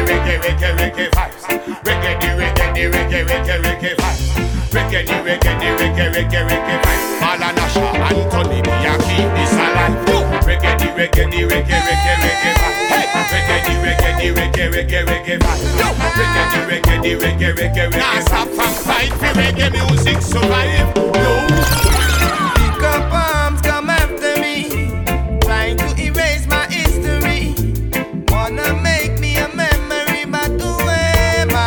reggae vibes. Reggae vibes. Reggae vibes. Malanasha, Anthony, me a keep this alive. Reggae vibes. Hey, reggae vibes. Reggae. Now stop from fight for reggae music survive. Pick up arms, come after me, trying to erase my history. Wanna make me a memory, but who am I?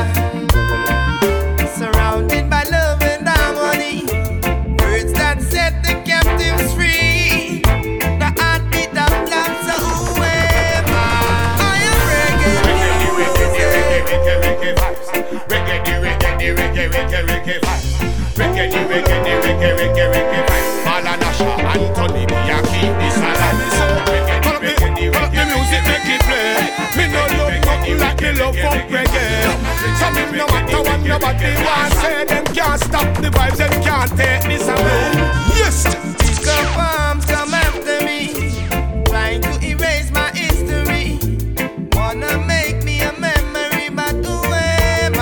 Surrounded by love and harmony, words that set the captives free. The heartbeat of love, so who am I? I am reggae music. Reggae vibes. Reggae vibes. Reggae vibes. Malanasha, Anthony, me a keep this alive. The music make it play. Me no love nothing like me love for reggae. So me no matter what nobody want say, them can't stop the vibes, them can't take this away. Yes. Pick up arms, come after me, trying to erase my history. Wanna make me a memory, but who am I?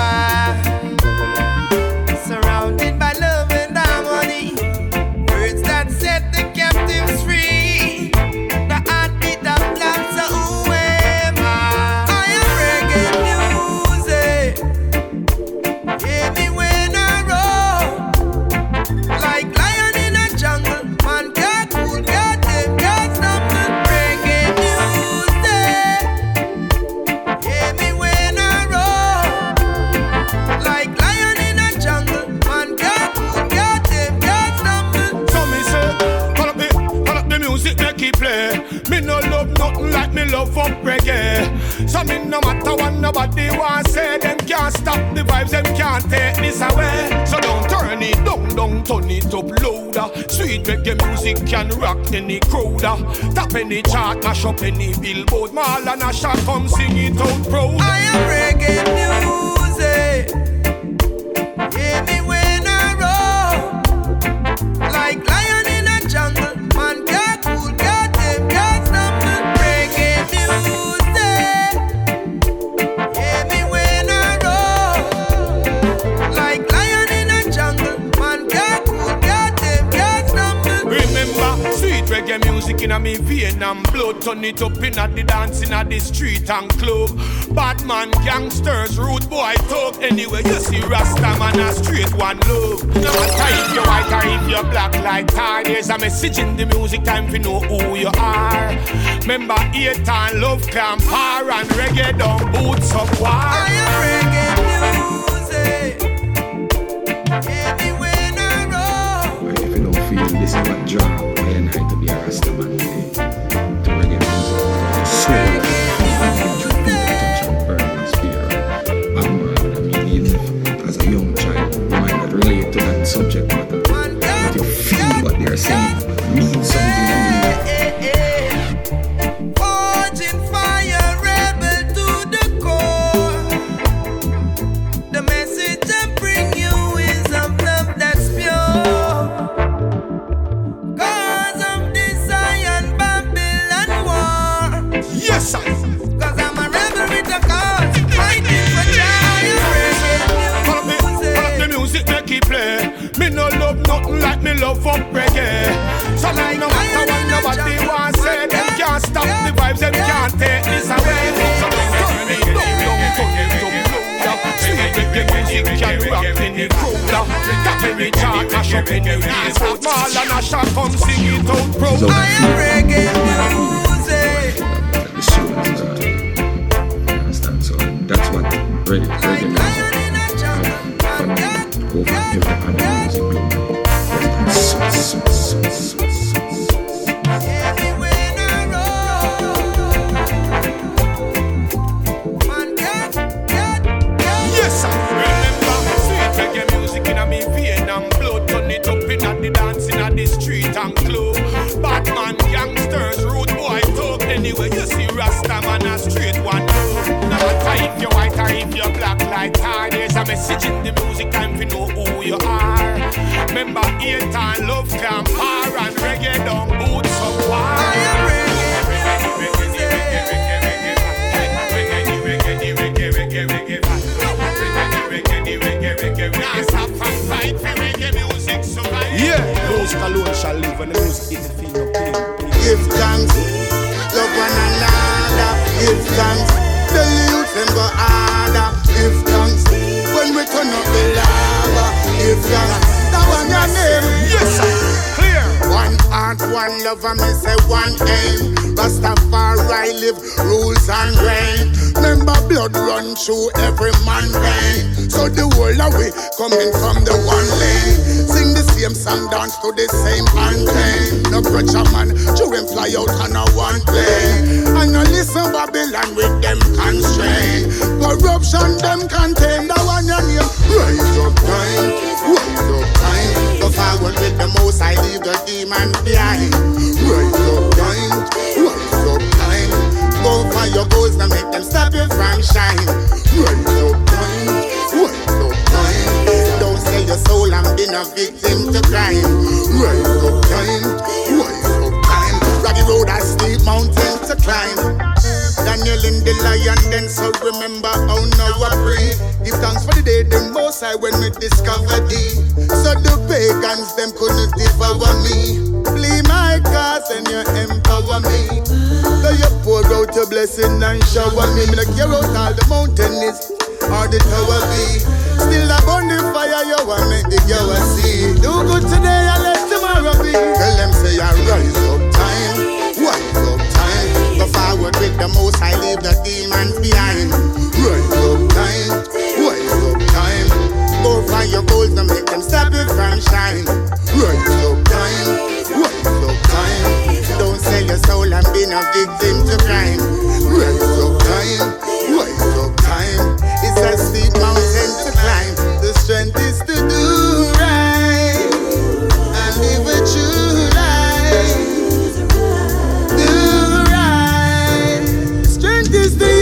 Surrounded by love and harmony, words that set the captives free. The heartbeat of love, so who am I? I am reggae music. Hear me when I roll, like lion in a jungle. Man can't cool, can't tame, can't stumble. Reggae music. Hear me when I roll, like lion in a jungle. Man can't cool, can't tame, can't stumble. So me say, call up the music make it play. Me no love nothing like me love for reggae. So me no matter what nobody want say, them can't stop the vibes, them can't take this away. So don't turn it down, turn it up louder. Sweet reggae music can rock any crowd. Tap any chart, mash up any billboard. Malanasha come sing it out proud. I am reggae music. Hear me when I roll, like lion in a jungle. Man can't cool, can't tame, can't stumble. Reggae music. Hear me when I roll, like lion in a jungle. Man can't cool, can't tame, can't stumble. Remember, sweet reggae music in a me vein and blood. Turn it up in a the dance in a the street and club. Bad man, gangsters, rude boy talk. Anyway, you see Rasta man a straight one love. No matter if you're white or if you're black like tar, there's a message in the music, time to know who you are. Remember, hate and love can par and reggae down boots up war. I am reggae music. Hear me when I roll. And if you don't feel this is what draw why and I to be a Rasta man today. To reggae music, soul and touch and burn and spirit. Bad man, I mean, even if as a young child you might not relate to that subject matter, but you feel what they're saying means something to you. Forging fire, rebel to the core. The message I bring you is of love that's pure. Cause of desire and Babylon war. Yes, sir. Cause I'm a rebel with a cause, fighting for giant Follow the music make it play. Me no love nothing like me love for reggae. So like no matter what nobody want say, them can't stop the vibes, them can't take this away. So don't turn it down, turn it up louder. Sweet reggae music can rock any crowd. Tap any chart, mash up any billboard. Malanasha come sing it out proud. I am reggae music. The soul and you understand? So that's what reggae music over every other music group. Yes, I remember sweet reggae music in a me vein and blood. Turn it up in a the dance in a the street and club. Bad man, gangsters, rude boy talk. Anyway, you see Rasta man a straight one love. No matter if you're white or if you're black like tar, there's a message in the music, time to know who you are. Remember, hate and love can par and reggae down boots of war. I am reggae music. Reggae give thanks. Love one another, give thanks. The youth them go harder, give thanks. When we turn up the lava, give thanks. That one your name, Yes, sir. Clear. one heart, one love, and me say one aim. Rastafari live, rules and reign. Remember blood run through every man vein. So the whole of we coming from the one lane. Sing the same song, dance to the same anthem. No grudge a man, to him fly out on a one plane. And no listen Babylon with them constraint. Corruption them contain, the one your name. Rise up time, rise up time. Go forward with the most, I leave the demons behind. Rise up time, rise up time. Go for your goals and make them stop you from shine. Rise up time, rise up time. Don't sell your soul and be a victim to crime. Rise up time, rise up time. Rocky road and steep mountain to climb. Daniel in the lion then, so remember how now I pray. Give thanks for the day the most I when we discover thee. So the pagans them couldn't devour me. Flee my cause and you empower me. So you pour out your blessing and shower me. Me like you out all the mountain is or the tower be. Still I burn the fire you want make the girl see. Do good today and let tomorrow be. Tell them say I rise up time, rise up time. Go forward with the most, I leave the demons behind. Rise up time, rise up time. Go find your goals and make them stop you from shine. Rise up time, rise up time. Don't sell your soul and be a victim to crime. Rise up time, rise up time. It's a steep mountain to climb. The strength is to do right and live a true life. Do right. Strength is to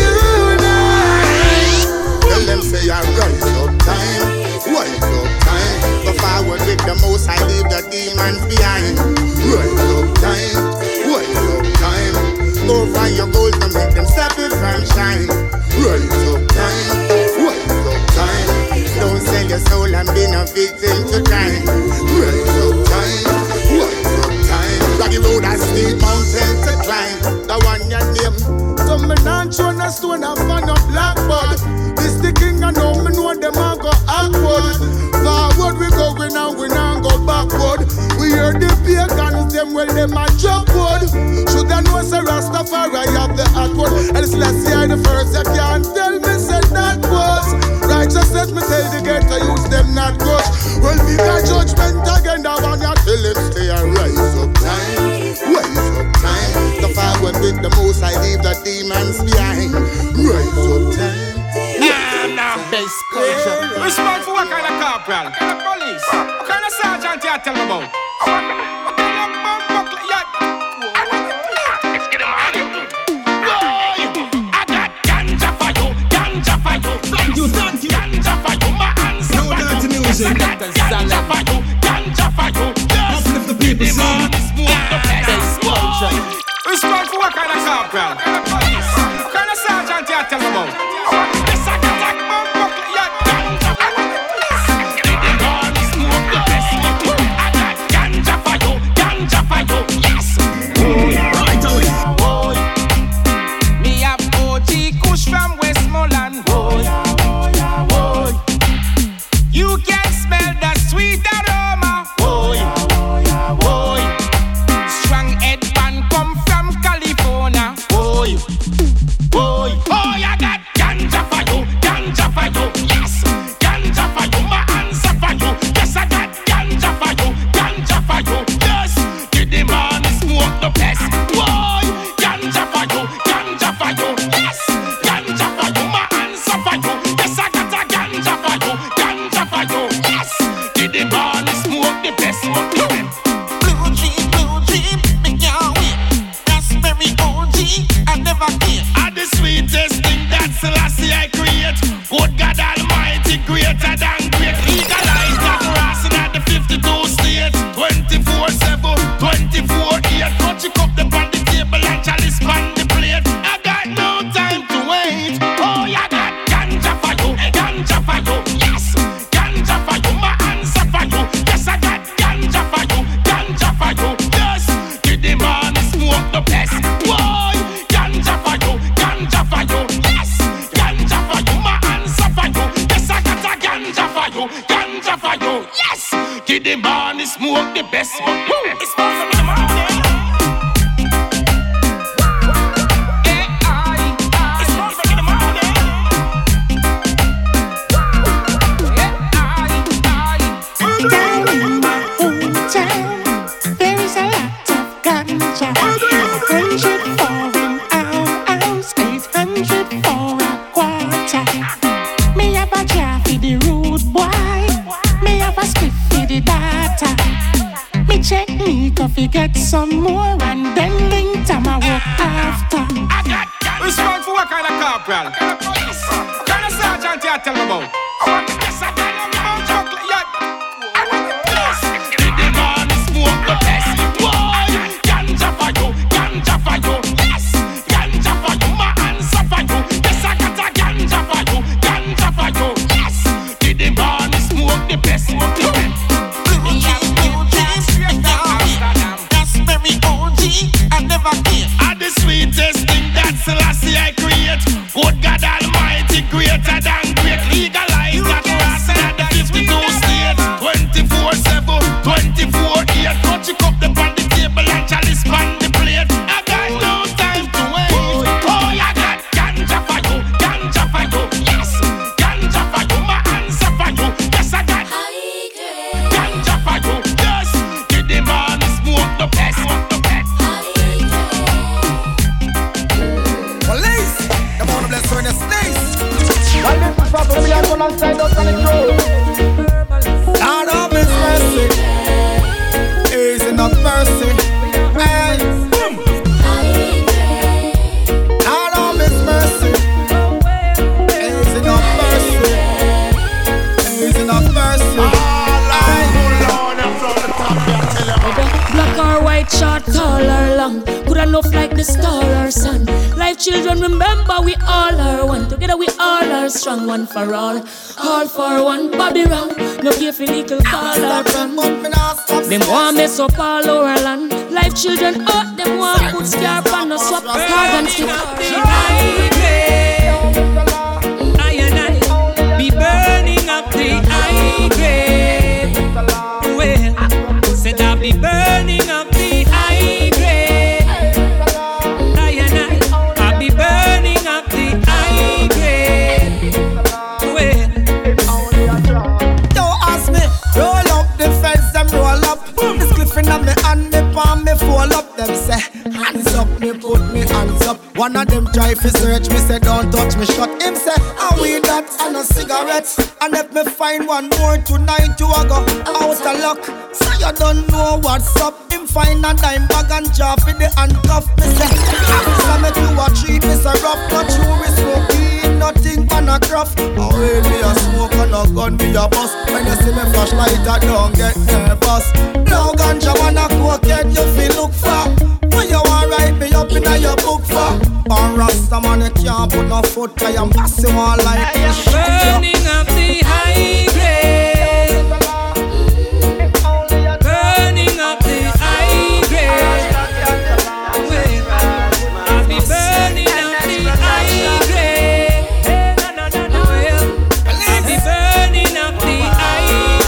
unite. Tell them say I rise up time, rise up time. Go forward with the most, I leave the demons behind. Rise up time, rise up time. Go find your goals and make them stop you from shine. Rise up time, rise up time. Don't sell your soul and be a victim to crime. Rise up time, rise up time. Rocky road and steep mountain to climb. The one your name. Some me not show no stone and fan up blackboard. This the king and now me know them a go upward. Forward we going and we not go backward. We hear the pagans them well them a jump wood. Should I know say Rastafari have the hot word. And let's see the first you can't tell me say that was righteousness me tell the ghetto use them not crush. Well we got judgment again that one you tell him stay and rise up time, rise up time. The forward with the most I leave the demons behind. Rise up time. Nah. Best culture. Respond for what kind of corporal? What kind of police? What kind of sergeant you tell me about? What kind of buckler? Let's get him on. I got ganja for you, ganja for you. Thank you. Ganja for you, my hands. No dirty music. Ganja for you, ganja for you. Uplift the people, son. Best culture. Respond for what kind of corporal? What kind of police? What kind of sergeant you tell me about? Yes, I got that buckler. Yeah, ganja for you. I got ganja for you, ganja for you. Yes. Right away. Boy, me have OG Kush from Westmoreland. Boy, you can smell the sweet aroma. Boy, strong headband come from California. Boy, oh, I got corporal. Colonel Sergeant, you tell me about. Yes, I tell you about chocolate. Yes. The man smoke the best. Boy, ganja for you, ganja for you. Yes, ganja for you, my answer for you. Yes, I got a ganja for you, ganja for you. Yes, the man smoke the best. That's very OG. I never care. And the sweetest thing that Selassie I create. Good God Almighty, greater than great. Legalize that grass at the 52 states. 24/7, 24/8. Cut you up the on the table and chalice on the plate. I got no time to wait. Oh, I got ganja for you, ganja for you. Yes, ganja for you, my answer for you. Yes, I got ganja for you. Yes, give the man smoke the best. Police, them wanna bless her in the snails. Lord of His mercy, is enough mercy. Hey, Lord of His mercy, is enough mercy. Is enough mercy. Black or white, short, tall or long, good enough like the star or sun. Life children, remember we all are one. Together we all are strong, one for all for one. Bobby wrong, no care for little call or run. Them want mess up all our land. Life children out, them want put scarf on no swap card and stick. I and I be burning up the high grade. Well, said I be burning up the high grade. I and I be burning up the high grade. Well, don't ask me, roll up the fence and roll up. This cliffing on me and me palm me fall up. Them say, hands up, me put me hands up. One of them try to search me, say don't touch me, shot him say, I weed that and a cigarette. And if me find one more tonight, you a go out of luck. So you don't know what's up. Him find a dime bag and jar for the handcuff. Me say, so me do a treat, me say rough. Not true, we smoke weed, nothing but a craft. Oh, well, me a smoke and a gun, me a bust. When you see me flashlight, I don't get nervous. No ganja, wanna cocaine, you feel look for. When you want write me up in your book for. Born Rasta man, you can't put no foot. I am passing one like this. burning up the high grade. Burning up the high grade. Well, I be burning up the high grade. Well, I be burning up the high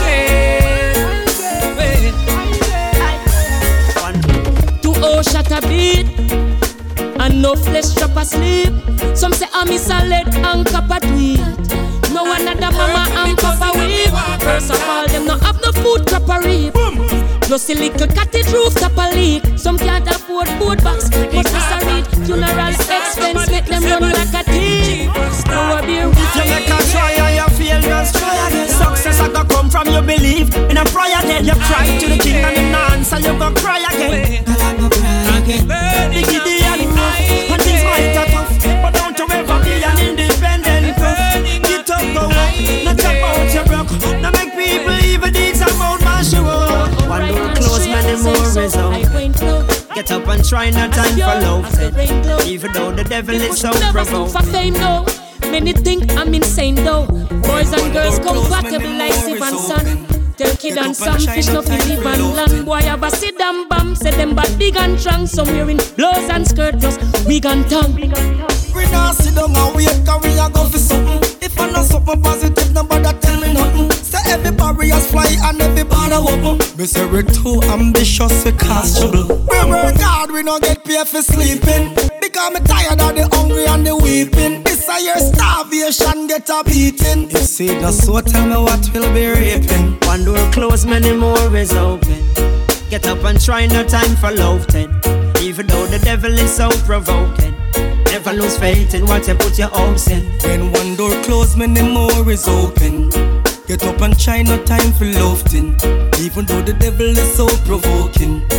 grade. To all shot a beat and no flesh chop asleep. Some say I miss a lead and copper tweet. No another mama and papa weep. First of all, them no have no food copper reap. Plus a little cottage roof top a leak. Some can't afford food box, but this a read. Funeral expense make them run like a thief. Now a beer with you make a try and you fail, just try again. Success I go come from your belief. In a prayer then you cry to the king and him answer, you go cry again. The Gideon and things might are tough, but don't you ever be an independent puff. Get up, go up, not about your broke. Now make people even deeds about my show. One door close, many more is open. Get up and try, no time for love. Even though the devil is so provoking. Many think I'm insane though. Boys and girls compatible like Steve and Son. Tell kid and some fish no fi live and land. Boy have a sit down bam, say them bad big and strong. Some wearing blouse and skirt plus wig and tongue. We not sit down and wait, cause we a go for something. If I know something positive, nobody tell me nothing. Say every barriers fly and every border open. Me say we too ambitious, we cause trouble. We work hard, we no get paid for sleeping. Because me tired of the hungry and the weeping. This a year starvation get a beating. You see the so tell me what will be raping. One door closed, many more is open. Get up and try, no time for love then. Even though the devil is so provoking. Never lose faith in what you put your hopes in. When one door closed, many more is open. Get up and try, no time for love then. Even though the devil is so provoking.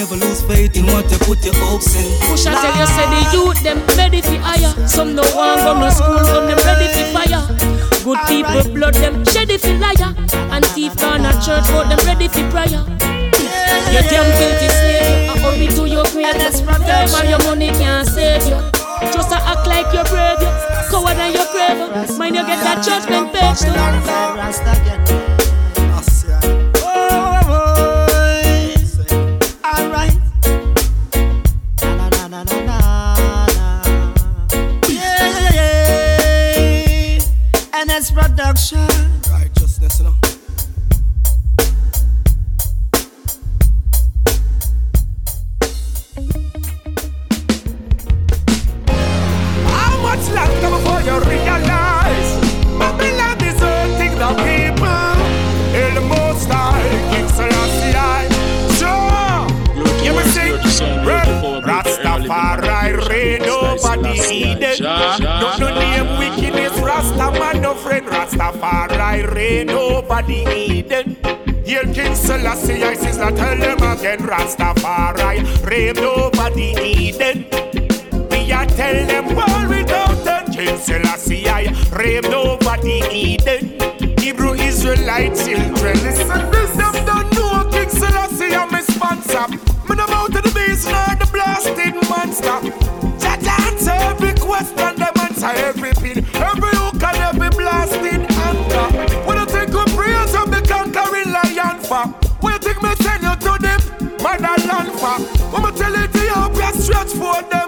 never lose faith in what you put your hopes in. Push I tell you, say the youth them ready for hire. Some no one go no school, but them ready for fire. Good people blood them shady for liar. And thief gone a church, but them ready for prayer. You damn guilty slave, I hurry to your grave. Time and your money can't save you. Just to act like you're brave, you coward and you're brave. Mind you get that judgment page too. Alright. Yeah. NS Production. Righteousness, you know. Much longer before you realize Babylon is hurting the people. In the most high, King Selassie. Sure, you will sing Rastafari reign over the Eden. No name wickedness, Rastaman no friend. Rastafari reign over the Eden. Here King Selassie, I says not tell them again. Rastafari reign over the Eden. I tell them all without them. King Selassie, I raved over the Eden. Hebrew Israelite children. Listen, this them don't know King Selassie, I'm a sponsor. Man, I'm out of the beast, not the blasted monster. Jaja answer every question, them answer every pin. Every hook and every blasted anchor. When I think of praise of the conquering lion for, when you think me send you to them, motherland for. When I tell Ethiopia stretch for them.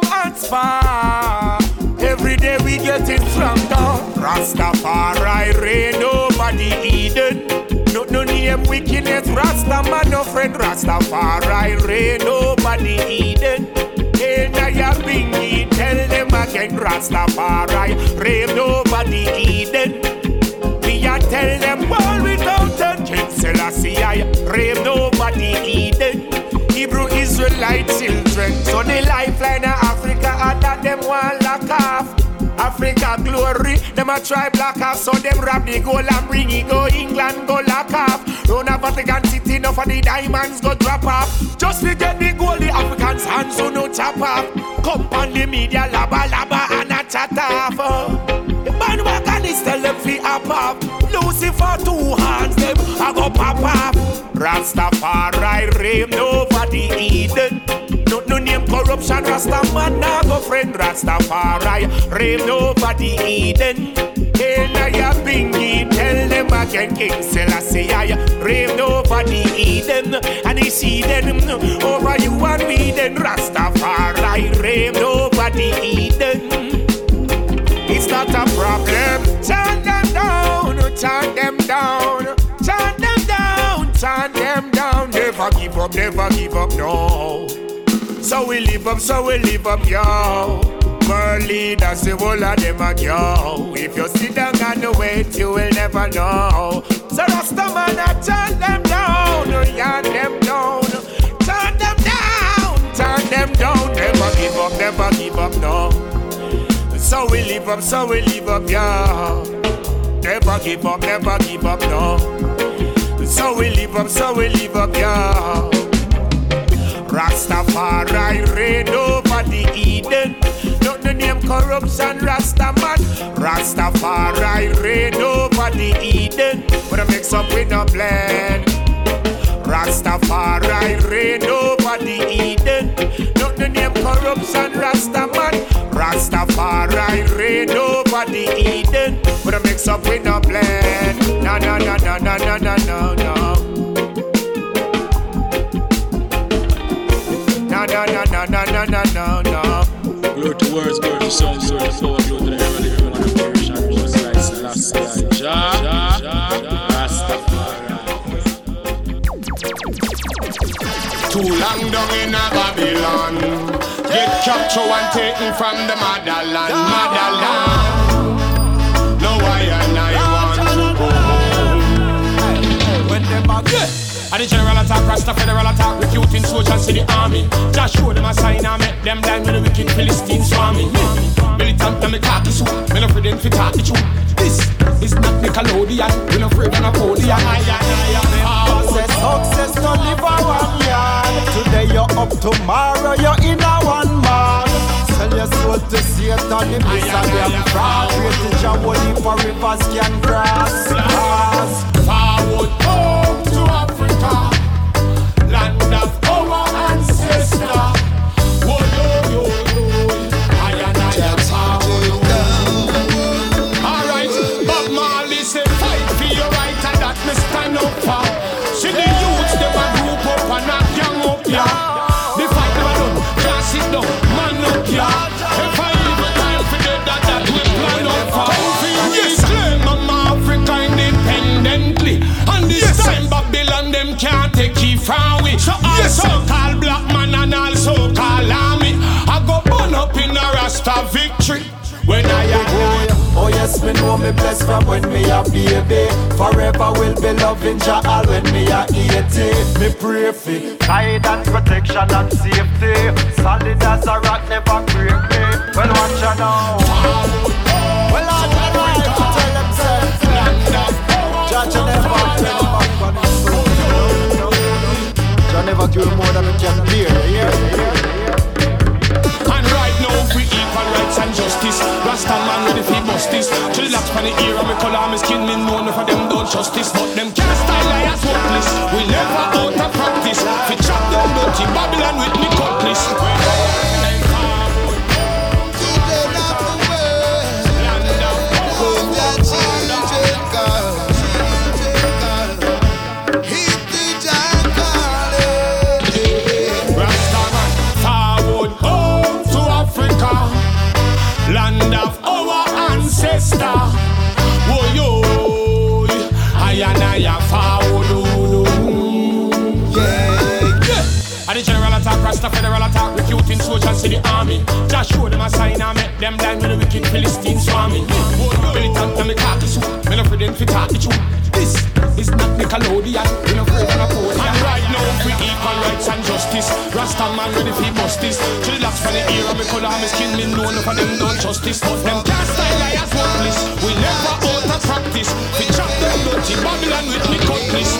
Every day we get it from down. Rastafari reign over the Eden. No name wickedness, Rastaman no friend. Rastafari reign over the Eden. And I have been tell them again. Rastafari reign over the Eden. We a tell them all without them. King Selassie I reign over the Eden. Hebrew Israelite children. So the lifeline of Africa under them one lock off. Africa glory, them a try block off. So them rob the gold and bring it go England go lock off. Don't have Vatican City, enough of the diamonds go drop off. Just to get the gold, the Africans hands so no chop off. Come on the media, laba laba and a chat off. The bandwagon is tell them fi up up. Lucifer two hands, them a go pop up. Rastafari reign over the Eden. No name corruption, Rastaman nah go friend. Rastafari reign over the Eden. And I have been tell them again. King Selassie I reign over the Eden. And he see them over you and me. Then Rastafari reign over the Eden. It's not a problem. Chant them down, chant them down, chant them down, chant them down. Never give up, no. So we live up, yo. World leaders, the whole of them are yo. If you sit down and wait, you will never know. So Rastaman, chant them down, chant them down, chant them down, chant them down. Never give up, no. So we live up, yo. Never give up, no. So we live up, yo. Rastafari reign over the Eden. Not the name corruption, Rastaman. Rastafari reign over the Eden. But I mix up with no blend. Rastafari reign over the Eden. Not the name corruption, Rastaman. Rastafari reign over the Eden. But I mix up with no blend. No. No. Glory to words, glory to songs, glory to power, glory to the heavenly human and perish and just like Selassie, Rastafari. Too long down in a Babylon. Get captured and taken from the motherland. No, I want to go home. When them back, and the general attack, Rasta federal attack, recruiting soldiers to the army. Just show them a sign and make them blind with the wicked Philistines swarming. Militant and me khaki suit, me no afraid them fi talk the truth. This is not Nickelodeon, we no afraid of Napoleon. Success to live a 1 yard. Today you're up tomorrow you're in a one man. Sell your soul to Satan, him this a damn fraud. Created your holy for rivers can cross. Forward home to Africa, land of our ancestor. Whoa, yo, yo, yo, I and I am forward. Alright, Bob Marley say fight for your right and that me stand up for. See the youths, them a group up and a gang up, yeah. The fight never done, can't sit down, man up, yeah. If I leave a time for the that we plan up for. Yes, claim I'm Africa independently. And this time Babylon them can't take it from we. So all so-called black man and all so-called army, I go burn up in a Rasta victory. When I am oh yes, me know me blessed from when me a baby. Forever will be loving Jah all when me a 80. Me pray for guidance, protection and safety. Solid as a rock, never break me. Well, watch ya now. Well, I tell them say, Jah never turn back on his soul. Jah never do more than he can bear. And right now we equal rights and justice. Rasta man ready for justice. To the locks for the ear and me color my skin. Me know none of them don't justice, but them can't style like as hopeless. We never out of practice. We chop them dirty Babylon with me cutlass. Land of our ancestor. Whoa, yo, I and I am forward. Yeah. And the general attack, Rasta federal attack, recruiting soldiers to the army. Just show them a sign and make them blind with the wicked Philistine swarming. Militant and me talk the truth, me no afraid them to talk the truth. This is not Nickelodeon, we no afraid of a pole. And right now we equal rights and justice. Rasta man ready for justice. To the locks for the ear and me color my skin. Me know none of them don't justice, but them can't style like as hopeless. We never out of practice. We chop them dirty Babylon with me cutlass.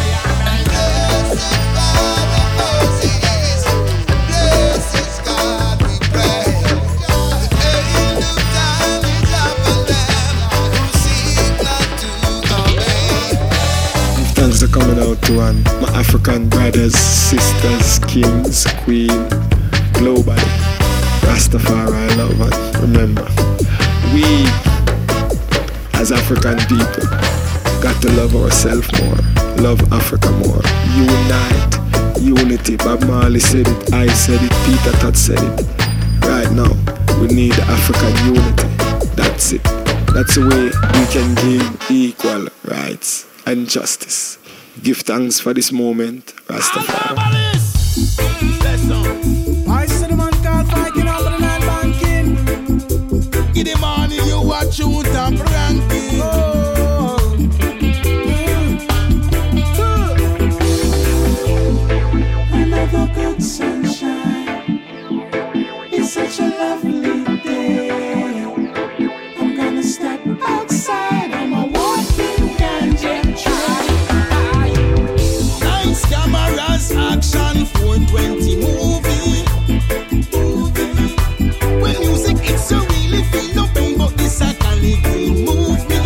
Thanks for coming out to my African brothers, sisters, kings, queen, globally, Rastafari love. And remember, we as African people got to love ourselves more, love Africa more, unite, unity. Bob Marley said it, I said it, Peter Todd said it. Right now, we need African unity. That's it. That's the way we can give equal rights and justice. Give thanks for this moment, Rastafari. I said the man called Viking over the night banking. In the morning you watch you top ranking. Another good sunshine. It's such a lovely day. I'm gonna step outside on my walking ganja trail. Nice cameras, action, 420 movie. When music it's so really feel no pain, but this I can move me.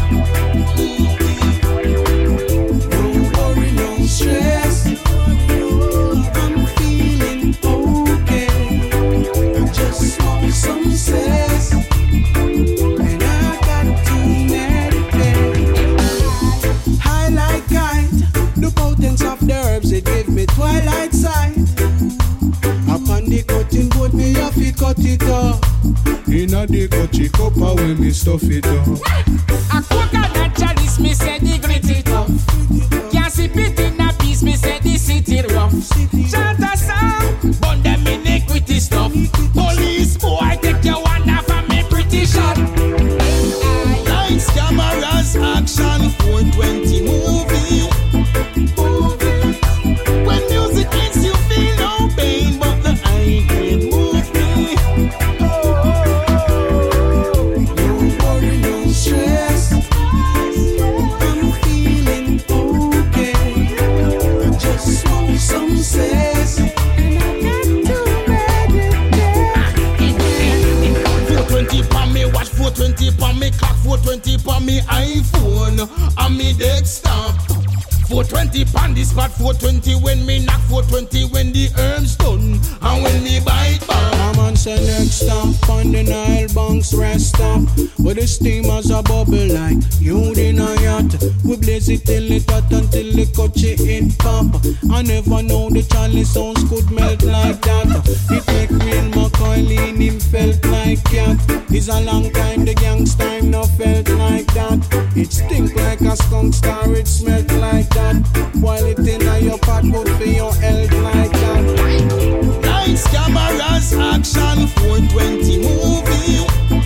No worry, no stress. I'm feeling okay. I just want some cess, and I got to meditate. High like kite, the potence of the herbs it gave me twilight sight. Upon the cutting board me have to cut it off. Inna the cutty copper when me stuff it up. A coconut chalice me say the grit it off. Can't sip it in a piece me say the city rough. Chant a song, burn them iniquity stuff. Police boy take your one off and me pretty shot. Lights, cameras, action, 420 movie. When music makes you feel no pain, but the high grade move me. No worry, no stress. I'm feeling okay. I just want some cess, and I me clock 420 on me iPhone and me desktop. 420 pan the spot, 420 when me knock, 420 when the herbs done, and when me bite back. I'm on say next stop on the Nile Banks rest stop, where the steamers a bubble like you in a yacht. We blaze it till it hot until the coachy it pop. I never know the Charlie sounds could melt like that. It make real McCoy lean him felt like cat. It's a long time the gangsta time no felt like that. It stink like a skunk star, it smelt like that. While it in your pot, good for your health like that. Lights, cameras, action, 420 movie.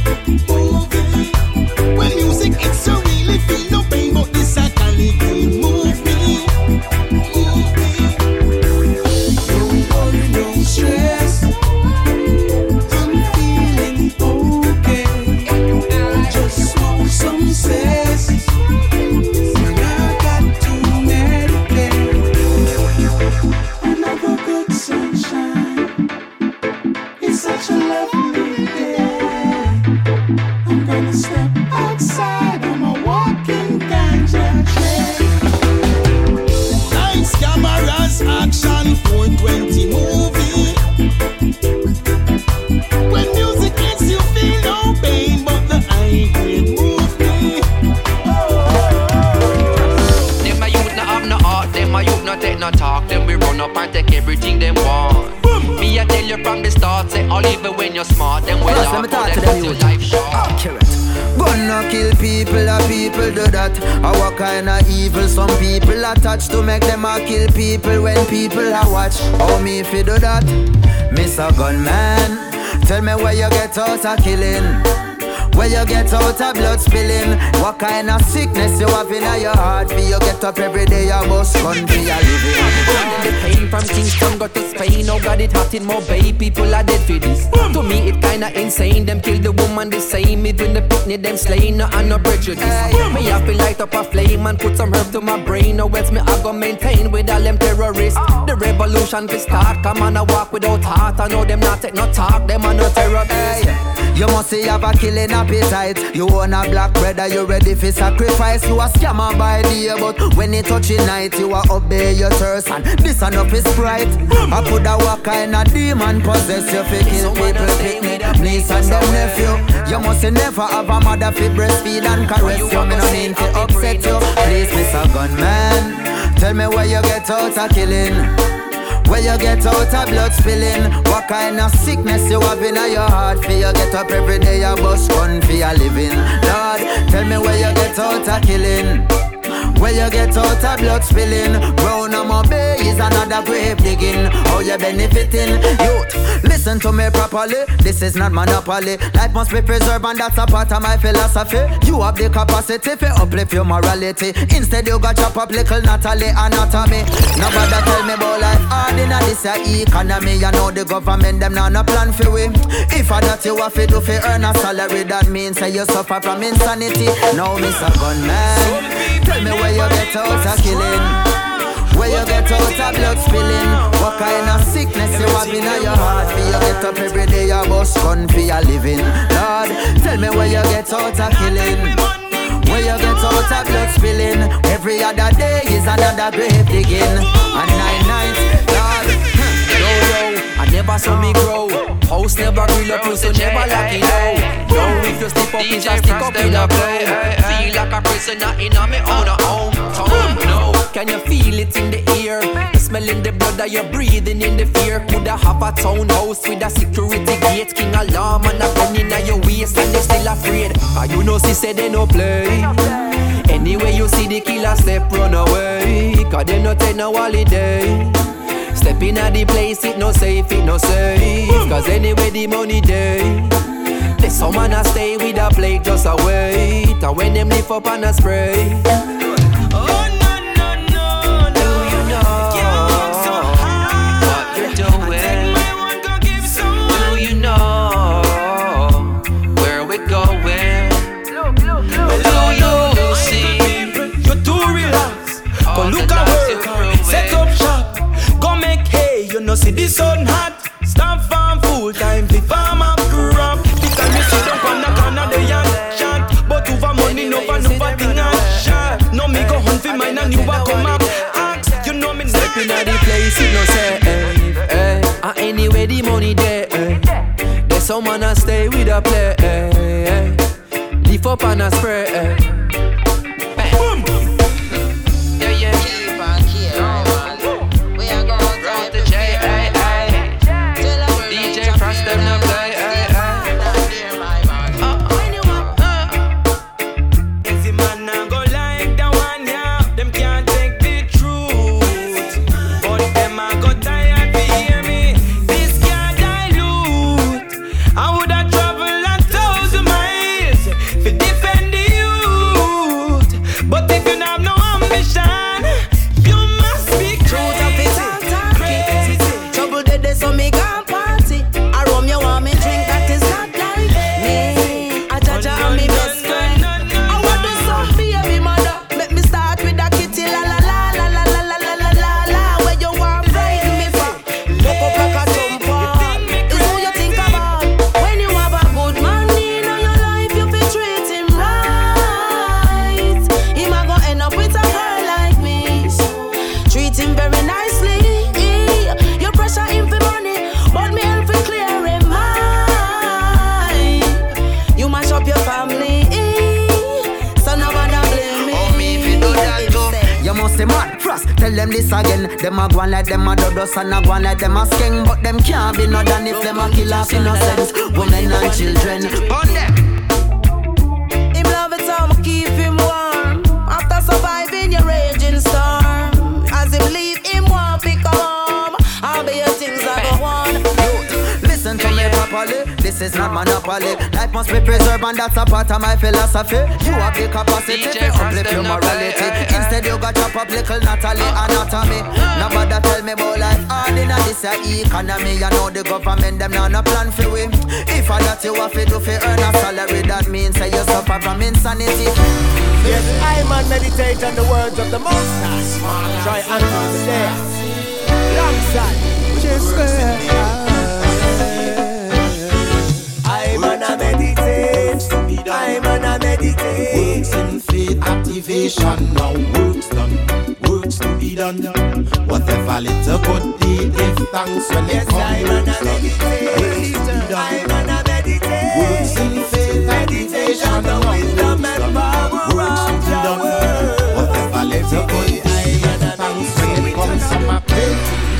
When music it's so really feel no pain, but this a quality movie. Don't worry, don't stress. I'm feeling okay. Just smoke some cess. Action 420 movie. When music makes you feel no pain, but the high grade movie. Them a youth no have no heart, them a youth no take no talk. Them we run up and take everything them want. Me I tell you from the start, say all even when you're smart, them will laugh for them your life short. Gonna kill people, and people do that. Our kind of evil, some people attach to make them a kill people when people a watch. How me if you do that? Mr. Gunman, tell me where you get out of killing, where you get out of blood spilling. What kind of sickness you have in your heart? For you get up every day, you bust gun for your living. The pain from Kingston got to Spain. Oh God, it hot in Mobay. People are dead for this. To me, it kinda insane. Them kill the woman the same. Even the picnic, them slain. No, and no prejudice. Me have to light up a flame and put some herb to my brain. No else me I go maintain with all them terrorists. The revolution will start. Come on, I walk without heart. I know them not take no talk. Them are no terrorists. You must see have a killing appetite. You want a black brother, you ready for sacrifice. You a scammer by day, but when it touch night, you a obey your thirst. And this enough is Sprite. I put a what kind of demon possess you fi kill people, pick me, niece and them nephew. You must never have a mother fi breastfeed and caress you. Me no mean to upset you. Please, Mr. Gunman, tell me where you get out of killing, where you get out of blood spilling. What kind of sickness you have in your heart? For you get up every day, you bust gun for your living. Lord, tell me where you get out of killing, where you get out of blood spilling. Brown on my bay is another grave digging. How you benefiting? Youth, listen to me properly. This is not monopoly. Life must be preserved and that's a part of my philosophy. You have the capacity to uplift your morality. Instead you got chop up little Natalie anatomy. Nobody tell me about life hard in this economy. You know the government them now no plan for we. If I that you have to do for earn a salary, that means that you suffer from insanity. Now Mr. Gunman, tell me where you get out of killing, where you get out of blood spilling. What kind of sickness you have in your heart? For you get up every day, you bust gun for your living. Lord, tell me where you get out of killing, where you get out of blood spilling. Every other day is another grave digging. And 9 nights, Lord. Yo, I never saw me grow. House never grill up, you so never lock it low. Yo, if you step up, it's a stick up in a blow. Feel like a prisoner in a me own home. No, can you feel it in the air? The smell in the blood that you're breathing in the fear. Coulda have a townhouse with a security gate, king alarm and a gun in your waist, and they still afraid. You know, she said they no play. Anyway, you see the killer step, run away. Cause they no take no holiday. Stepping at the place, it no safe, it no safe. Cause anyway, the money day. There's someone a stay with a plate just a wait. And when them lift up and a spray. Oh, no, no, no, no. Do you know what you're doing? Do you know where we're going? Do you see? You're too relaxed. Go look at work, set up shop. Go make hay, you know see the sun hot. Stop farm full time, the farm up crop. Because you sit down on the corner, they and chat. But some man a stay with a play. Leaf up and a spray. Boom. Yeah. Keep on here, man. We are going round the J. DJ Frost them no play. Tell them this again. Them a go on like them a dodos and a go on like them a skeng, but them can't be no than if them a kill off innocence, women and children. Burn them. Him love it how I keep him warm after surviving your raging storm. As him leave him want pick home. I'll be your things I go on. Listen to me properly. This is not monopoly. Life must be preserved and that's a part of my philosophy. You have the capacity to uplift your morality. Instead you got chop up little Natalie anatomy. Nobody tell me about life hard in this economy. You know the government them now no plan for we. If I that you have to do for earn a salary, that means that you suffer from insanity. Yes, I man meditate on the words of the Most High. Try and do the day. Alongside just I'm gonna meditate. I'm gonna meditate. Works in faith activation now. Works done. Works to be done. Whatever little good deed, give thanks when it comes. I'm gonna meditate. I'm gonna meditate. Works in faith activation now. Wisdom and power of your word. Whatever little good deed, give thanks when it comes to my pain.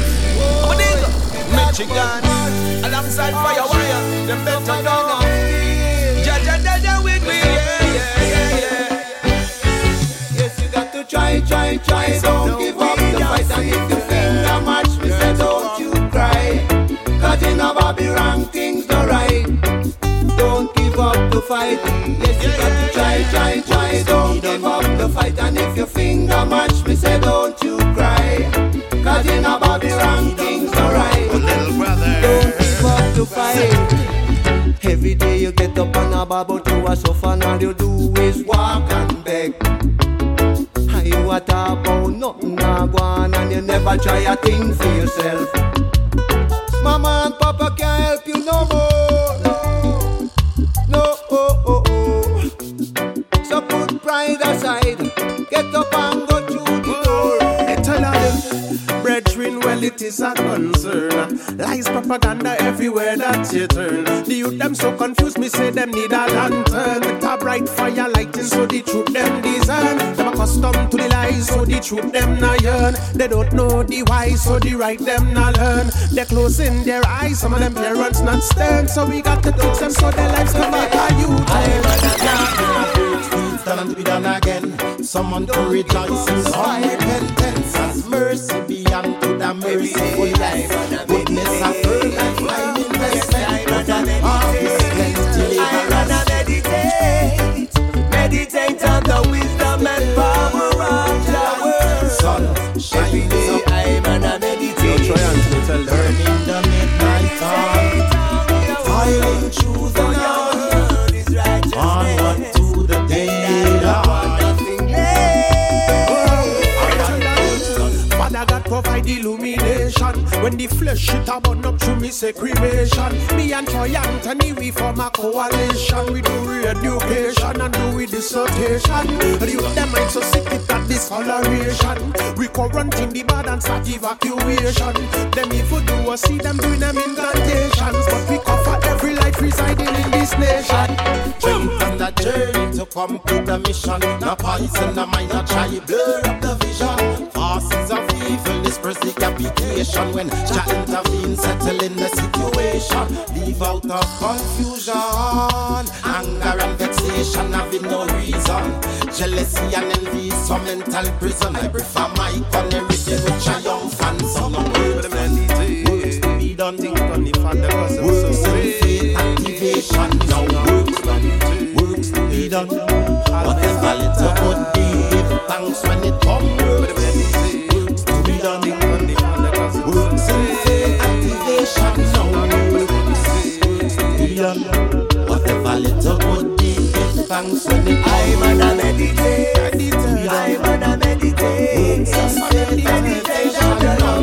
Michigan, alongside Firewire, them better know. Jaja with me, yeah. Yes, you got to try. Don't give up the fight, and if you finger match me, say don't you cry. 'Cause in a Bobby wrong things not right. Don't give up the fight. Yes, you got to try. Don't give up the fight, and if you finger match me, say don't you cry. 'Cause in a Bobby wrong things not right. Don't give up the fight. Every day you get up on a bar, but you are suffer, and all you do is walk and beg. And you a talk about nothing a go on, and you never try a thing for yourself. Mama and Papa can't help you no more. No. So put pride aside, get up and go through the door. Tell them, brethren, well it is a concern. Lies, propaganda everywhere that you turn. The youth them so confused, me say them need a lantern. With a bright fire lighting so the truth them discern. Them accustomed to the lies so the truth them not yearn. They don't know the why so the right them not learn. They're closing their eyes, some of them parents not stern. So we got to teach them so their lives can make a youth. Stand to be done again. Someone to rejoice in some repentance. As mercy be unto the merciful life. Goodness of earth and find investment. Harvest plenty deliverance. Meditate on the wisdom and power of your word. Sun shine so I'm gonna meditate. Burning the midnight oil. Following truth and honor. Onward to the day. Father God provide illumination. When the flesh shit a burn up through me say cremation. Me and Troy Anthony, we form a coalition. We do re-education and do with dissertation. The youth them mind so sick with that discoloration. We quarantine the bad and start evacuation. Them if we do a see them doing them incantations. But we cover every life residing in this nation. Jump on that journey to complete the mission. No poison, no mind, no try blur up the vision. Forces of evil, this precipitation. When Jah intervene, settle in the situation. Leave out of confusion, anger and vexation, having no reason. Jealousy and envy, some mental prison. I prefer my canary with triumph and some words to be done. Works and faith activation. Now works to be done. Whatever little good give thanks when it comes. Works to be done. Works and faith activation. Now works to be done. Whatever little good give thanks when it comes. I'm gonna meditate. I'm gonna meditate. Works and faith activation. Now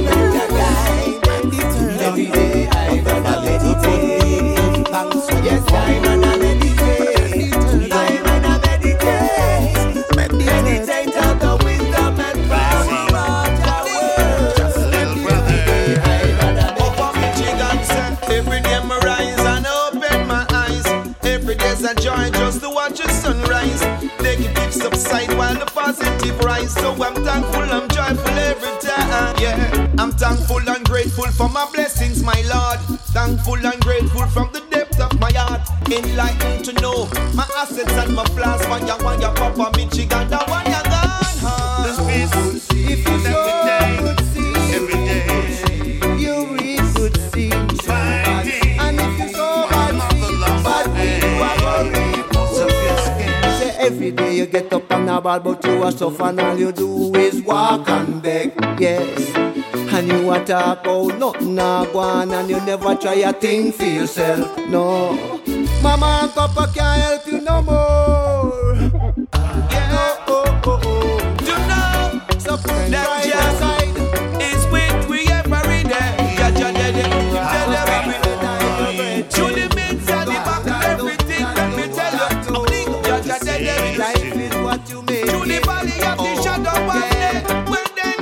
meditate. Whatever little good give thanks when it comes. I'm gonna meditate. I'm gonna meditate. Meditate on the wisdom and power of Yahweh. Just a little brother. Over Michigan, sir. Every day I rise and open my eyes. Every day's a joy just to watch the sunrise. Negative subside while the positive rise. So I'm thankful, I'm joyful every time. Yeah, I'm thankful and grateful for my blessings, my Lord. Thankful and grateful from the depth of my heart. Enlightened to know my assets and my flaws. Why you Papa Michigan, that one you gone hard. If you sow good seed every day, you reap good seed. And if you sow bad seed, you are going to say every day you get up and about, but you are suffer and all you do is walk and beg. Yes. And you a talk about nothing a go on, and you never try a thing for yourself. No, Mama and Papa can't help you no more. Yeah, you know, so put that your side is with we every day. To the midst and the back of everything, let me tell you, life is what you make. To the valley of the shadow of death, when then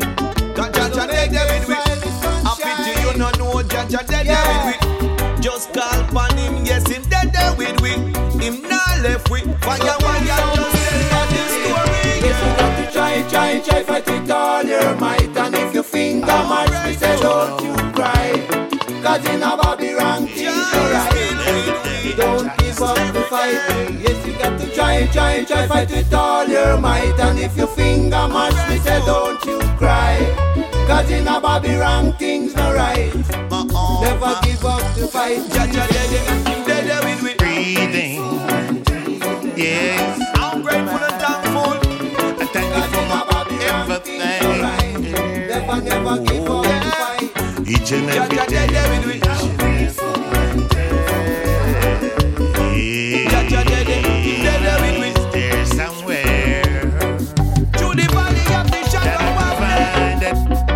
no know Jaja dead with we. Just call upon him, yes, him dead with we. Him not left with. Why just tell the story. Yes, you got to try, fight with all your might. And if your finger march, me say don't you cry. Cause in a Babylon things alright. Don't give up the fight. Yes, you got to try, fight with all your might. And if your finger march, me say don't you cry. Cause in a Babylon things not right. Never give up the fight. Breathing. Yes. I'm grateful and thankful. I thank you for my everything. Never give up the fight. Each and every day. There's somewhere to the valley of the shadow of death.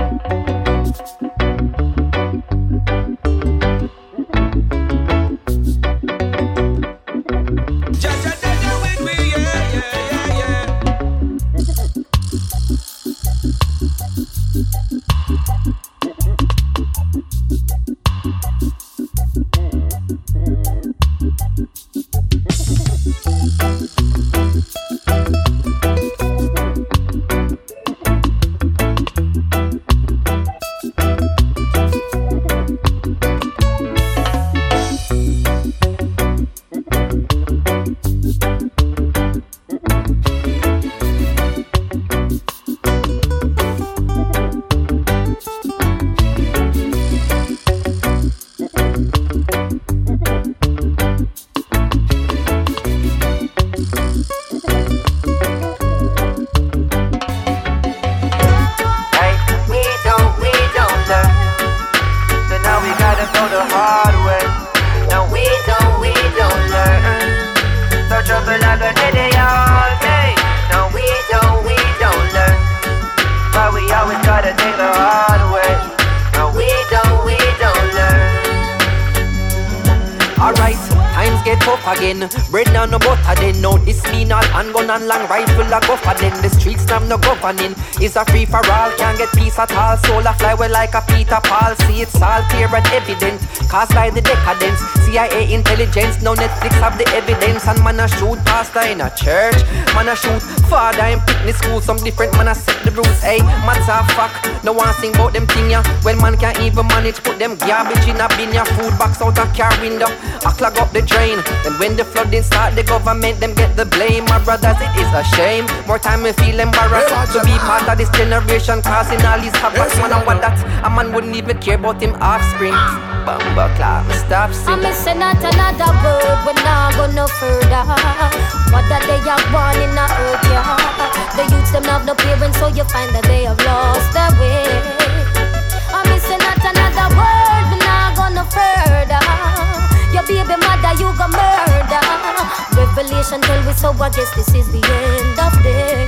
again. Bread down no butter then. No this mean all handgun and long rifle a go for then. The streets have no governing. It's a free for all, can't get peace at all. Soul a fly well like a Peter Paul. See it's all clear and evident, caused by the decadence. CIA intelligence, now Netflix have the evidence. And man a shoot pastor in a church, man a shoot father in picnic school. Some different man a set the rules. Hey, matter of fact, no one sing about them thing ya. When man can't even manage, put them garbage in a bin ya. Food box out a car window, I clog up the drain. Then when the flooding start, the government them get the blame. My brothers, it is a shame. More time we feel embarrassed to be part of this generation, causing all these havoc. Man, I want that a man wouldn't even care about him offspring. Bumba clap, stop singing. I'm missing out another word, we're not go no further. What that they are born in the earth, yeah. The youths them have no parents, so you find that they have lost their way. I'm missing out another word, we're not go no further. Your baby mother, you go murder. Revelation tell we so, I guess this is the end of day.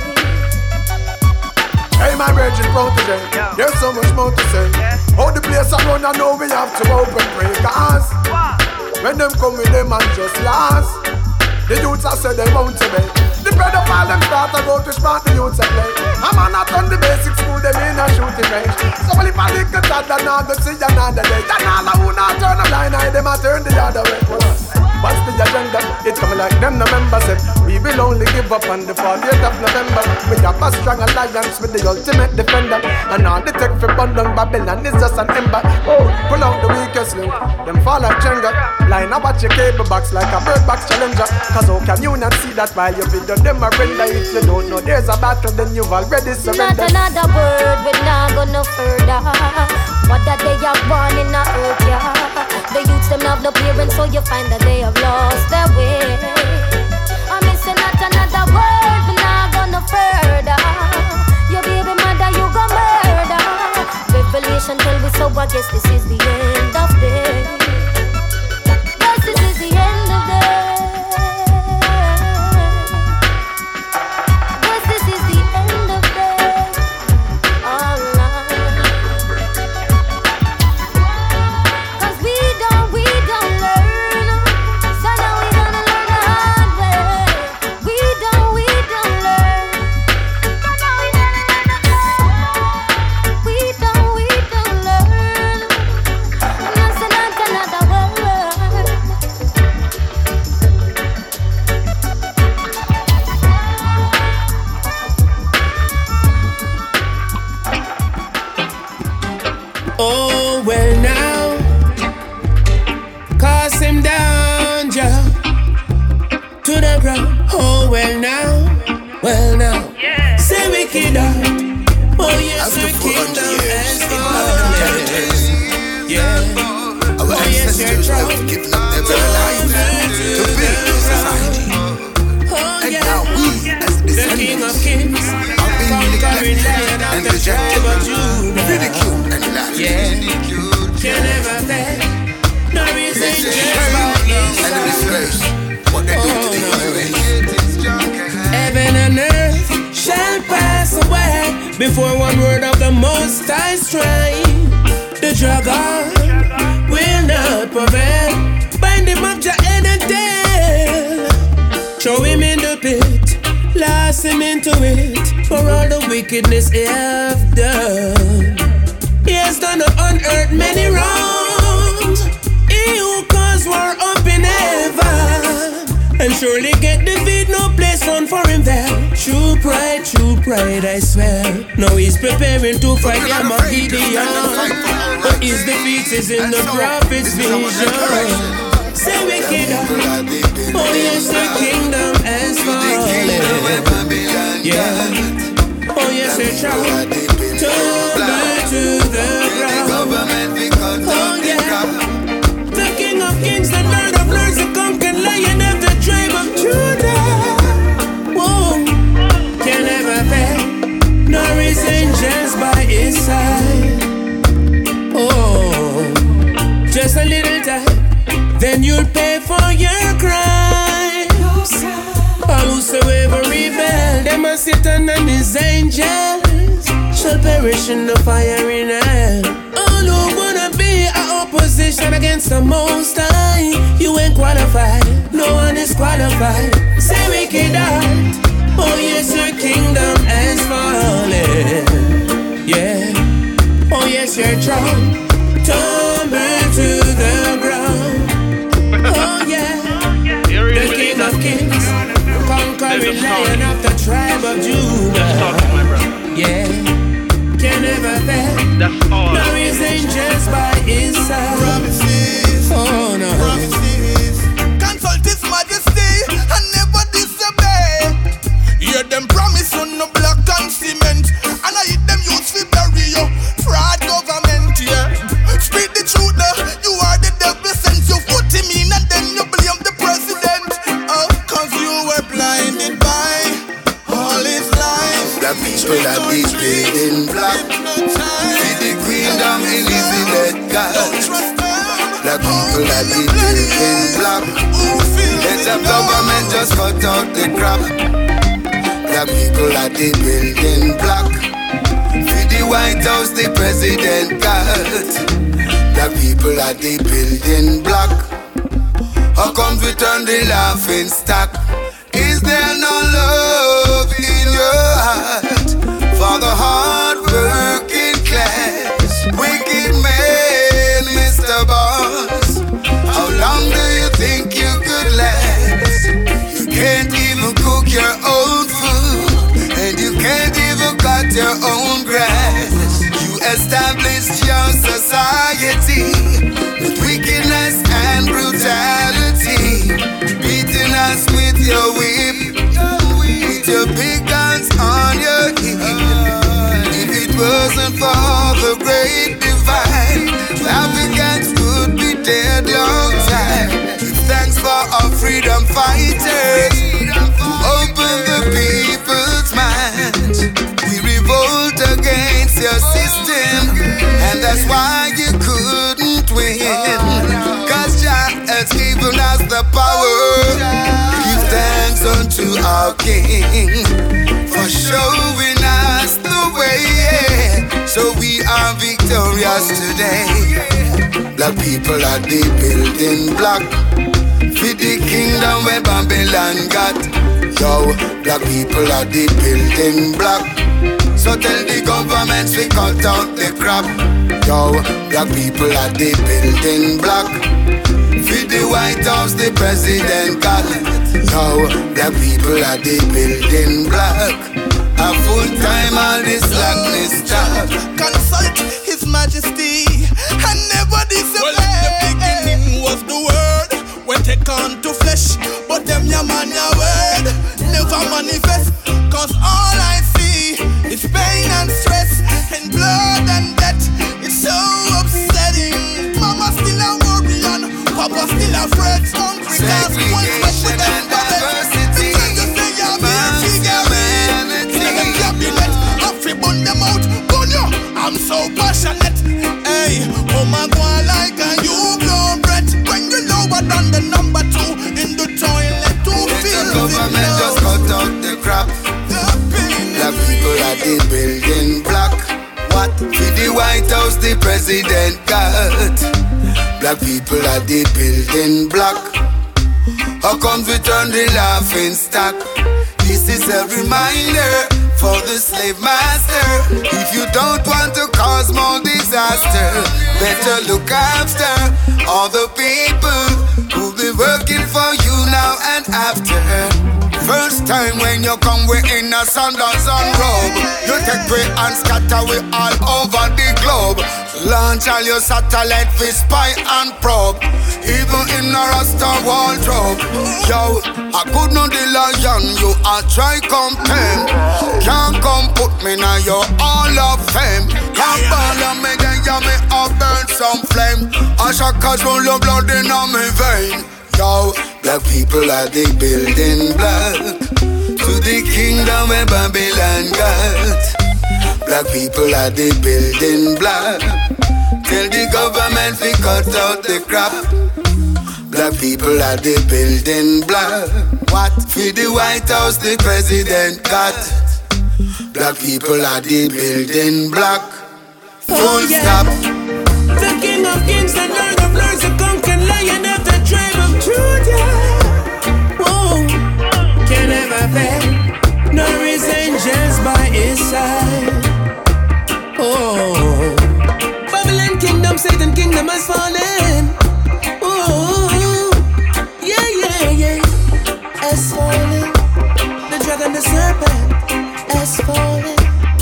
Hey, my virgin protege, there's so much more to say. How the place I run, I know we have to open pray. Cause when them come with them and just last, the youths I said they won't obey. The pedophile them start to go to smart the youths I play. I'm not on the basic school, them in a shooting range. So if I lick the toddler, now go see another day. Then all who not turn a blind eye, them I turn the other way. What's the agenda? It's coming like them the members said. We will only give up on the 40th of November. We have a strong alliance with the ultimate defender. And all the tech for Bundung Babylon is just an ember. Oh, pull out the weakest link, them fall like Jenga. Line up at your cable box like a bird box challenger. Cause how can you not see that while you video them a render? If you don't know there's a battle, then you've already surrendered. Not another word, we're not go no further. What that they are born in the earth, yeah. The youths them have no parents, so you find that they have lost their way. I'm missing out another word, we're not go no further. Your baby mother, you go murder. Revelation tell we so, I guess this is the end of day. Yes, this is the end of day. Yes, this is the end of day. All right. Cause we don't learn. So now we gonna learn the hard way. We don't learn. So now we gonna learn the hard way. We don't learn. I'm not saying another word. Oh, well now, cast him down, Jah, to the ground. Oh, well now, say wicked out. Oh, yes, the kingdom has fallen. Yeah, oh, yes, you're trouble. Giving up their life to build a society. Oh, And yeah, now we, as the King of Kings, are being conquering neglected lion of and the tribe of Judah. ridiculed and laughed. Yeah, can never fail. No reason just by his And in this side. place, what they do to the human race. Heaven and earth shall pass away before one word of the Most High strike. The dragon will not prevail. Bind him up, Jah head and tail. Throw him in the pit, last him into it. For all the wickedness he have done. He has done on earth many wrongs. He who caused war up in heaven, and surely get defeat, no place found for him there. True pride, I swear. Now he's preparing to fight Armageddon, but his defeat is in the prophet's vision. Say wicked up, oh yes, the kingdom has fallen. Yeah, oh yes, they try to the ground. Oh yeah, the King of Kings, the Lord of Lords, the conquered Lion of the tribe of Judah. Whoa, can never fail, nor his angels by his side. Oh, just a little time, then you'll pay for your crimes. All whosoever rebel, them are Satan and his angels, shall perish in the fire in hell. All who wanna be our opposition opposition against the Most High. You ain't qualified, no one is qualified. Say wicked heart, oh yes, your kingdom has fallen. Yeah, oh yes, your throne tumble to the ground. Oh yeah, the King of Kings, conquering Lion of the tribe of Judah. Yeah, can never fail. Now he's angels by his side. Promises, oh no, promises. Consult His Majesty and never disobey. Hear them promise on no block and cement, and I hit them use for bury you. Fraud government, yeah. Speak the truth, you are the devil since you put him in, and then you blame the president. Oh, cause you were blinded by all his lies. The people are in black. See the kingdom Elizabeth God. The people are in black. Let the government just cut out the crap. The people are in black. See the White House, the president God. The people are in black. How come we turn the laughing stock? Is there no love in your heart for the hard-working class? Wicked man, Mr. Boss, how long do you think you could last? You can't even cook your own food, and you can't even cut your own grass. You established your society with wickedness and brutality, beating us with your whip, with your big guns on your hip. If it wasn't for the great divine, Africans would be dead long time. Give thanks for our freedom fighters who open the people's minds. We revolt against your system, and that's why you couldn't win. Cause Jah has given us the power. Give thanks unto our King for showing us the way, so we are victorious today. Black people are the building block for the kingdom where Babylon got. Yo, black people are the building block, so tell the governments we cut out the crap. Yo, black people are the building block for the White House, the president got. Yo, black people are the building block. A full time all this blackness stop. Consult His Majesty and never disobey. Well, the beginning was the word, when take on to flesh, but them ya man ya word never manifest. Cause all I see is pain and stress and blood and death. It's so upsetting. Mama still a worry and Papa still afraid. Hungry cause one sweat with them diversity. I'm so passionate. Hey, oh my God, like a you blow breath. When you lower than the number 2 in the toilet to feel the government just cut out the crap. Black people are the building block. What? For the White House, the president got. Black people are the building block. How come we turn the laughing stock? This is a reminder for the slave master. If you don't want to cause more disaster, better look after all the people who'll be working for you now and after. First time when you come, we in a sandals and robe. You take we and scatter we all over the globe. Launch all your satellite for spy and probe. Even in a Rasta wardrobe. Yo, I could not the lion, you are try come tame. Can't come put me now, your all of fame. Can't bother me, then you me up burn some flame. I shall cause roll your blood in on me vein. Yo, black people are the building block to the kingdom where Babylon got. Black people are the building block. Tell the government we cut out the crap. Black people are the building block. What? For the White House the president got. Black people are the building block. Full stop. The King of kings and Lord of lords, the conquering lion of the tribe of Judah. Whoa, can never fail, nor his angels by his side. Oh, Babylon kingdom, Satan kingdom has fallen. Oh, yeah, yeah, yeah, has fallen. The dragon, the serpent has fallen.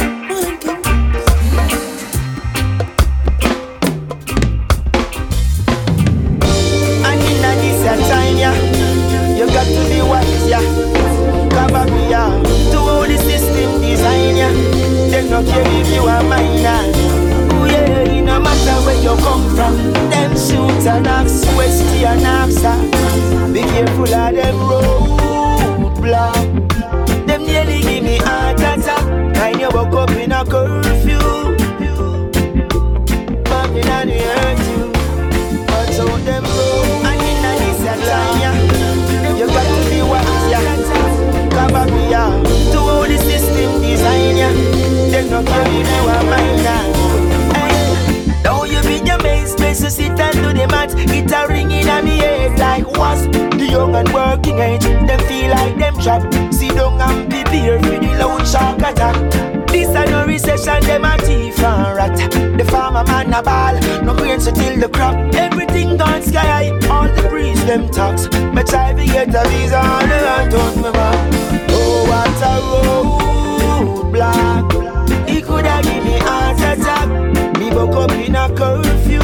You got to be wise, yeah. Cover me, yeah. To all the system design, yeah. They no care if you are minor. Oh yeah, no matter where you come from. Them shoot and axe, west and axe. Be careful of them roadblock. Them nearly give me heart attack. Kind you woke up in a curfew. Babylon hurt you. But out them road. And in a this time, yeah. You got to be wise, yeah. Cover me, yeah. To all the system design, yeah. They no care if you are minor. Hey, now you be your main space to sit and do the math. It a ring in a me head like was the young and working age. Them feel like them trapped. Sit down and prepare for the loud shark attack. This a no recession, them a thief and rat. The farmer man a ball, no grains to till the crop. Everything gone sky high, all the breeze them talks. Me try to get a visa on the land on me back. Oh, what a roadblock. He coulda give me heart attack. Me woke up in a curfew.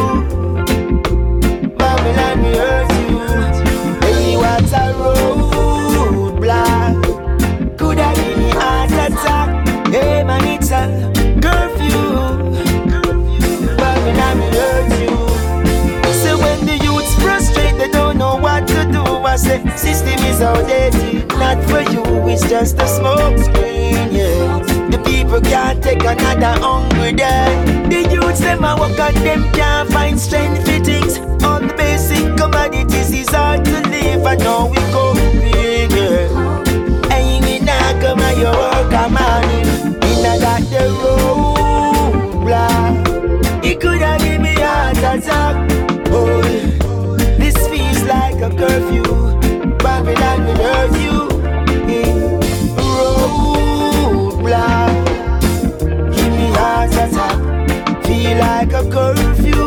Babylon me hurt you. Hey, what a roadblock. Coulda give me heart attack. Hey man, it's a curfew. Babylon me hurt you. So when the youths frustrate, they don't know what to do. I say, system is outdated, not for you, it's just a smoke screen, yeah. The people can't take another hungry day. The youths, them a walk and them can't find strength for things. All the basic commodities is hard to live, and now we go big, yeah. And we not come and you work a man. We not got the roadblock. He coulda give me heart attack. Oh, this feels like a curfew. Babylon will hurt you. Roadblock. Give me heart attack. Feel like a curfew.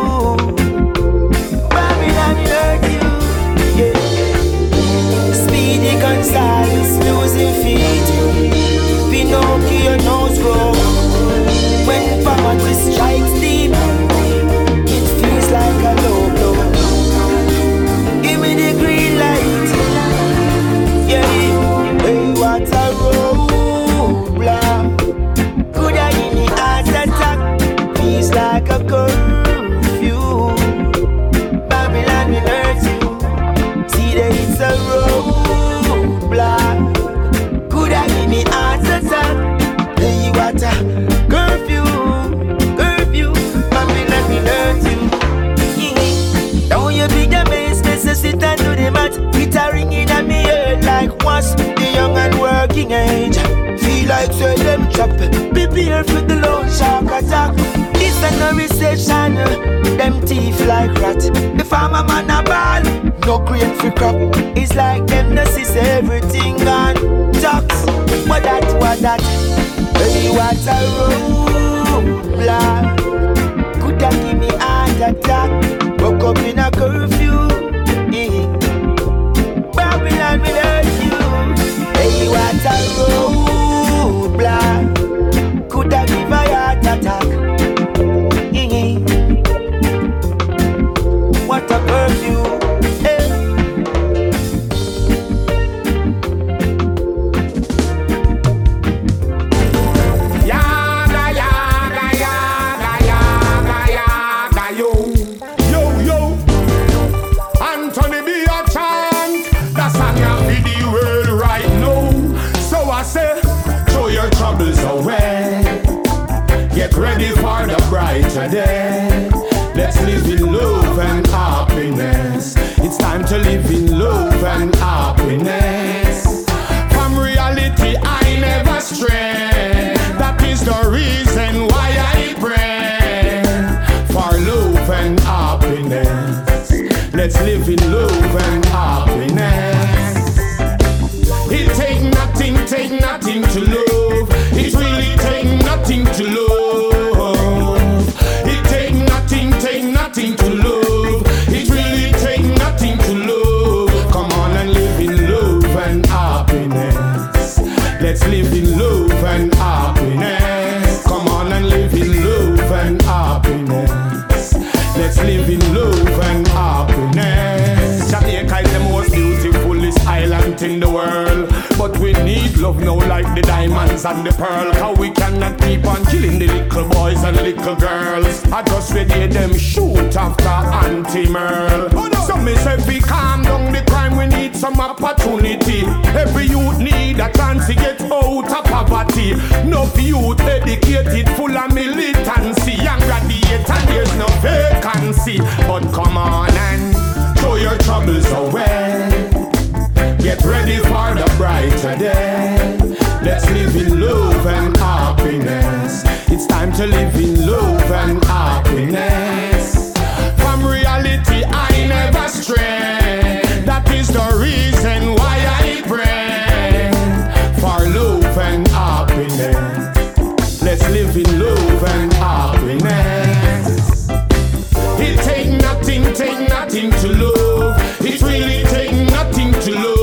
Babylon will hurt you. Yeah. Speedy Gonzales losing feet. Pinocchio nose grow. When poverty strikes deep, it feels like a low blow. Give me the green light, yeah. Hey, what a roadblock. Coulda give me heart attack. Feels like a curfew. Babylon will hurt you. See that it's a roadblock. Coulda give me heart attack. Hey, what a curfew. Babylon will hurt you. Now you be the base, sit and do the math. It a ringing at me head like was the young and working age. Feel like say them trap. Prepare for the loan shark attack. This a no recession. Them thief like rat. The farmer man a ball. No grain for crop. It's like them no see everything gone. Tax. What that? Hey, what a roadblock. Coulda give me heart attack. Woke up in a curfew. Babylon will hurt you. Hey, what a roadblock. Coulda give a heart attack. What a curfew. Hey. Ready for the brighter day. Let's live in love and happiness. It's time to live in love and happiness. From reality I never stray. That is the reason why I pray for love in the world. But we need love now like the diamonds and the pearl. Cause we cannot keep on killing the little boys and little girls. I just ready them shoot after anti-merl. So me say we calm down the crime, we need some opportunity. Every youth need a chance to get out of poverty. No youth educated, full of militancy. Young graduate and there's no vacancy. But come on and throw your troubles away. Get ready for the brighter day. Let's live in love and happiness. It's time to live in love and happiness. From reality I never stray. That is the reason why I pray for love and happiness. Let's live in love and happiness. It take nothing to love. It really take nothing to love.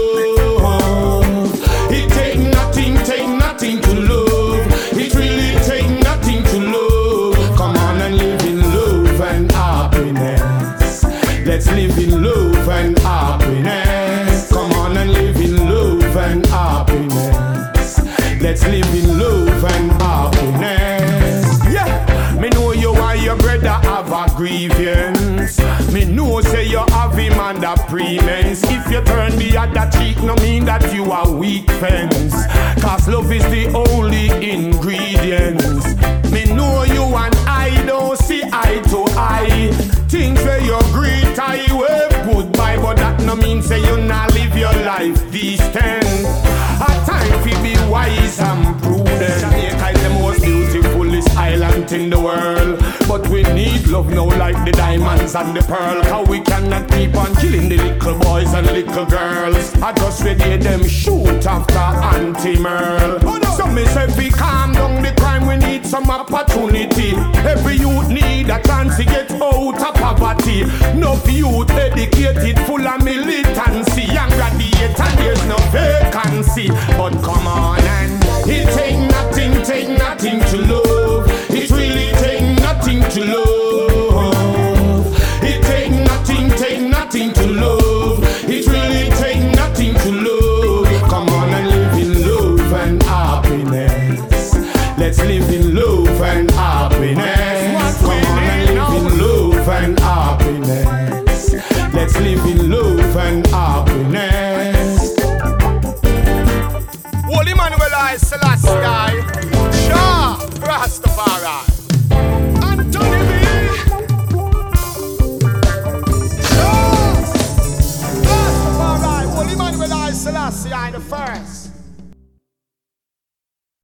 It take nothing to love. It really take nothing to love. Come on and live in love and happiness. Let's live in love and happiness. Come on and live in love and happiness. Let's live in love and happiness. Yeah, me know you and your brother have a grievance. Me know say you have him under pretense. If you turn the other cheek, no mean that you are weak fence. Cause love is the only ingredients. Me know you and I don't see eye to eye. Things where you greet, I wave goodbye. But that no mean say you not live your life decent. A time to be wise and prudent. Jamaica is the most beautifulest island in the world. But we need love now like the diamonds and the pearl. Cause we cannot keep on killing the little boys and little girls. I just ready them shoot after anti-merl. So me say we calm down the crime, we need some opportunity. Every youth need a chance to get out of poverty. No youth educated, full of militancy. Young graduate and there's no vacancy. But come on and it take nothing to love. It really take nothing to love. It take nothing to love. It really take nothing to love. Come on and live in love and happiness. Let's live in love and happiness. Come on and live in love and happiness. Let's live in love and happiness. Holy Manuel I Selassie.